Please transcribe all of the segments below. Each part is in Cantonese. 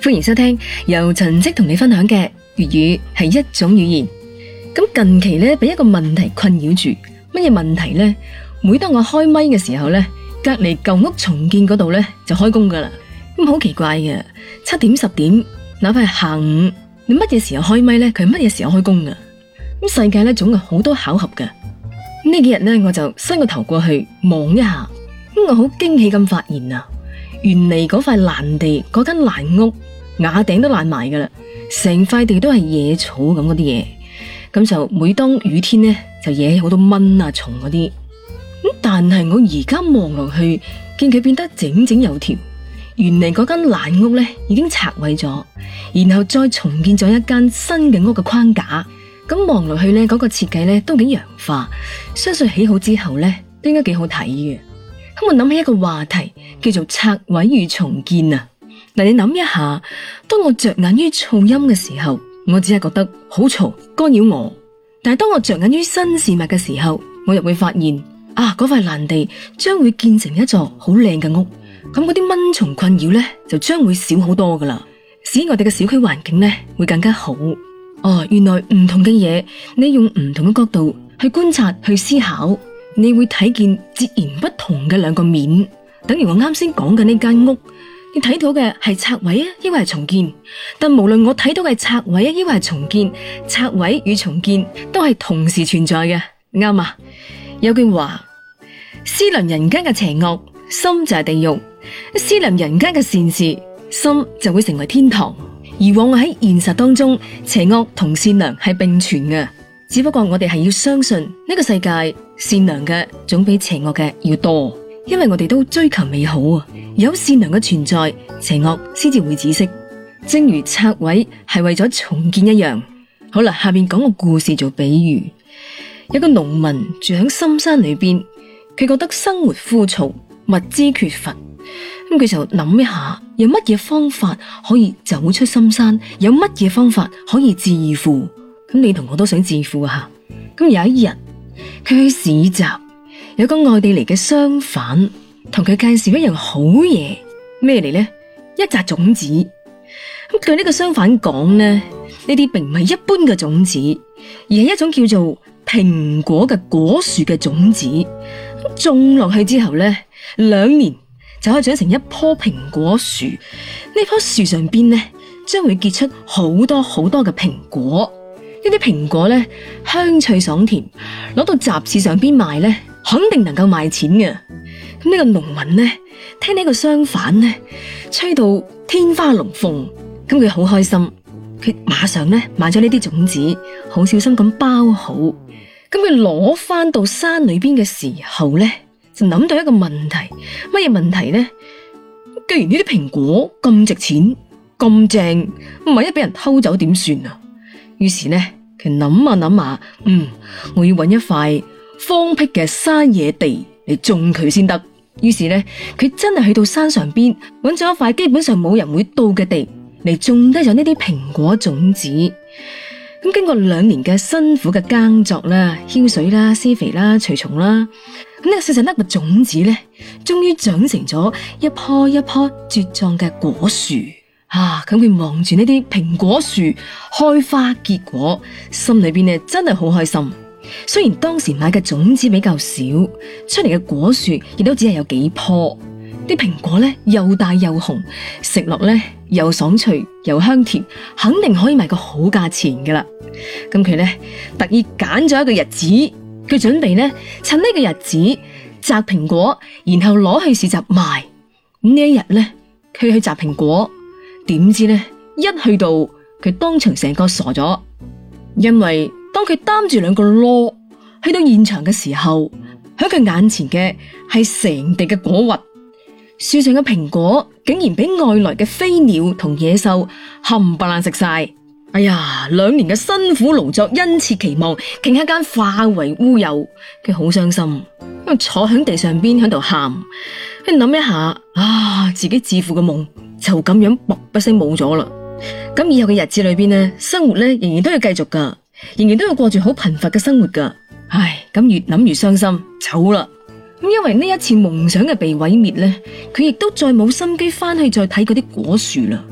歡迎收聽由陳迹同你分享嘅粵語係一種語言。咁近期咧，俾一個問題困擾住。乜嘢問題呢？每當我開咪嘅時候咧，隔籬舊屋重建嗰度咧就開工噶啦。咁好奇怪嘅，7點10點，哪怕係下午，你乜嘢時候開咪咧，佢係乜嘢時候開工噶？咁世界咧總有好多巧合嘅。呢幾日咧，我就伸個頭過去望一下，咁我好驚喜咁發現啊，原嚟嗰塊爛地，嗰間爛屋瓦頂都爛埋噶啦，成塊地都係野草咁嗰啲嘢。咁就每當雨天呢，就惹好多蚊啊蟲嗰啲。咁但係我而家望落去，見佢變得整整有條。原嚟嗰間爛屋呢已經拆毀咗，然後再重建咗一間新嘅屋嘅框架。咁望落去呢，嗰個設計呢都幾洋化，相信起好之後呢都應該幾好睇嘅。咁我諗起一個話題叫做拆毀與重建啊。嗱，你諗一下，當我着眼於噪音嘅時候，我只係覺得好嘈，干擾我。但係當我着眼於新事物嘅時候，我又會發現啊，嗰塊爛地將會建成一座好靚嘅屋。咁嗰啲蚊蟲困擾呢，就將會少好多噶啦，使我哋嘅小區環境呢會更加好。哦，原來唔同嘅嘢，你用唔同嘅角度去觀察、去思考，你會睇見截然不同嘅兩個面。等於我啱先講嘅呢間屋，你睇到嘅係拆毀啊，抑或係重建？但無論我睇到嘅係拆毀啊，抑或係重建，拆毀與重建都係同時存在嘅，啱啊！有句話，思量人間嘅邪惡，心就係地獄；思量人間嘅善事，心就會成為天堂。而往往喺現實當中，邪惡同善良係並存嘅，只不過我哋係要相信呢個世界善良嘅總比邪惡嘅要多，因為我哋都追求美好啊！有善良嘅存在，邪惡先至會止息。正如拆毀係為咗重建一樣。好啦，下面講個故事做比喻。有個農民住喺深山裏邊，佢覺得生活枯燥，物資缺乏。咁佢就諗一下，有乜嘢方法可以走出深山？有乜嘢方法可以致富？咁你同我都想致富啊！咁有一日，佢去市集，有個外地嚟嘅商販同佢介紹一樣好嘢，咩嚟呢？一紮種子。咁據呢個商販講呢，呢啲並唔係一般嘅種子，而係一種叫做蘋果嘅果樹嘅種子。咁種落去之後呢，2年就可以長成一棵蘋果樹。呢棵樹上邊呢，將會結出好多好多嘅蘋果。呢啲蘋果呢，香脆爽甜，攞到集市上邊賣呢，肯定能夠賣錢嘅。咁呢個農民呢，聽呢個商販呢吹到天花龍鳳，咁佢好開心，佢馬上呢買咗呢啲種子，好小心咁包好。咁佢攞翻到山裏邊嘅時候呢，就諗到一個問題，乜嘢問題呢？既然呢啲蘋果咁值錢、咁正，萬一俾人偷走點算啊？於是呢，佢諗下諗下，我要搵一塊荒僻嘅山野地嚟種佢先得。於是呢，佢真係去到山上邊搵咗一塊基本上冇人會到嘅地嚟種低咗呢啲蘋果種子。咁經過2年嘅辛苦嘅耕作啦、澆水啦、施肥啦、除蟲啦，咁呢個細細粒嘅種子呢，終於長成咗一棵一棵茁壯嘅果樹。咁佢望住呢啲蘋果樹開花結果，心裏邊呢真係好開心。雖然當時買嘅種子比較少，出嚟嘅果樹亦都只係有幾棵。啲蘋果呢又大又紅，食落呢又爽脆又香甜，肯定可以賣個好價錢噶啦。咁佢呢特意揀咗一個日子，佢準備呢趁呢個日子摘蘋果，然後攞去市集賣。呢一日呢，佢去摘蘋果。點知呢，一去到佢當場成個傻咗，因為當佢擔住2個籮去到現場嘅時候，喺佢眼前嘅係成地嘅果核，樹上嘅蘋果竟然俾外來嘅飛鳥同野獸冚唪唥食晒。哎呀，2年嘅辛苦勞作因此期望，竟一間化為烏有，佢好傷心，坐喺地上邊喺度喊。佢諗一下，自己致富嘅夢就咁樣卜一聲冇咗啦。咁以後嘅日子裏邊呢，生活呢仍然都要繼續噶，仍然都要過住好貧乏嘅生活噶。咁越諗越傷心，走啦。因為呢一次夢想嘅被毀滅呢，佢亦都再冇心機翻去再睇嗰啲果樹啦。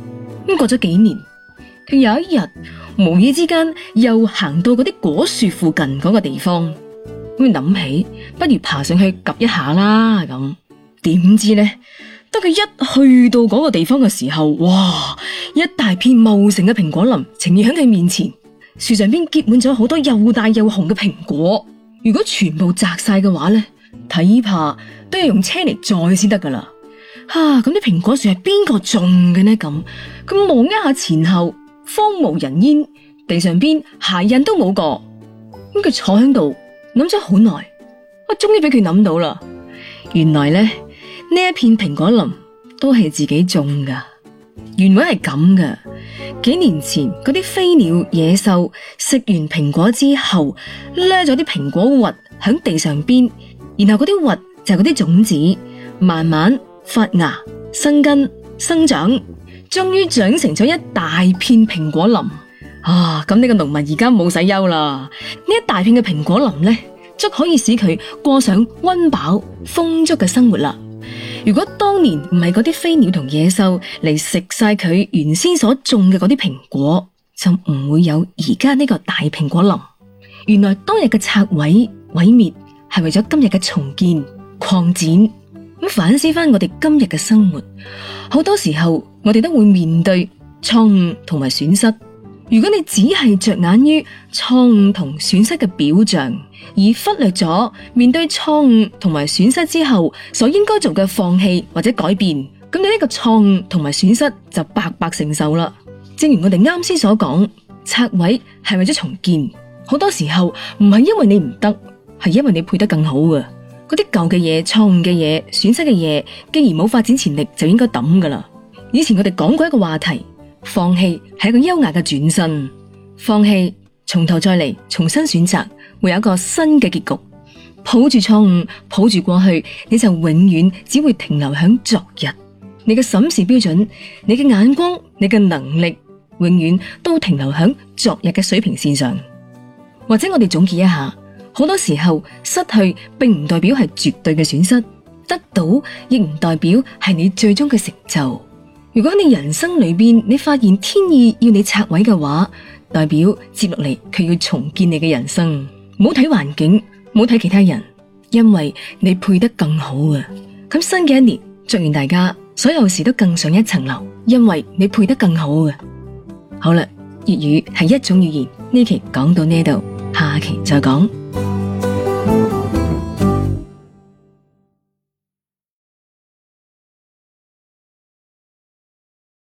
咁過咗幾年，佢有一日無意之間又行到嗰啲果樹附近嗰個地方，咁諗起不如爬上去 𥄫 一下啦。咁點知呢，當佢一去到嗰個地方嘅時候，哇！一大片茂盛嘅蘋果林呈現喺佢面前，樹上邊結滿咗好多又大又紅嘅蘋果。如果全部摘晒嘅話呢，睇怕都要用車嚟載先得噶啦。咁啲蘋果樹係邊個種嘅呢？咁佢望一下前後，荒無人煙，地上邊鞋印都冇個。咁佢坐喺度諗咗好耐，我終於俾佢諗到啦。原來呢一片蘋果林都係自己種噶。原本係咁噶，幾年前嗰啲飛鳥野獸食完蘋果之後，掠咗啲蘋果核喺地上邊，然後嗰啲核就係嗰啲種子，慢慢發芽、生根、生長，終於長成咗一大片蘋果林。咁呢個農民而家冇使憂啦，呢一大片嘅蘋果林呢，足可以使佢過上溫飽豐足嘅生活啦。如果當年唔係嗰啲飛鳥同野獸嚟食晒佢原先所種嘅嗰啲蘋果，就唔會有而家呢個大蘋果林。原來當日嘅拆毀毀滅係為咗今日嘅重建擴展。咁反思翻我哋今日嘅生活，好多時候我哋都會面對錯誤同埋損失。如果你只係着眼於錯誤同損失嘅表象，而忽略咗面對錯誤同埋損失之後所應該做嘅放棄或者改變，咁你呢個錯誤同埋損失就白白承受啦。正如我哋啱先所講，拆毀係為咗重建，好多時候唔係因為你唔得，係因為你配得更好嘅。嗰啲舊嘅嘢、錯誤嘅嘢、損失嘅嘢，既然冇發展潛力，就應該抌噶啦。以前我哋講過一個話題，放棄係一個優雅嘅轉身，放棄從頭再嚟，重新選擇，會有一個新嘅結局。抱住錯誤，抱住過去，你就永遠只會停留喺昨日。你嘅審視標準、你嘅眼光、你嘅能力，永遠都停留喺昨日嘅水平線上。或者我哋總結一下，好多時候失去並唔代表係絕對嘅損失，得到亦唔代表係你最終嘅成就。如果你人生裏邊你發現天意要你拆毀嘅話，代表接落嚟佢要重建你嘅人生。唔好睇環境，唔好睇其他人，因為你配得更好啊！咁新嘅一年，祝願大家所有事都更上一層樓，因為你配得更好啊！好啦，粵語係一種語言，呢期講到呢度，下期再講。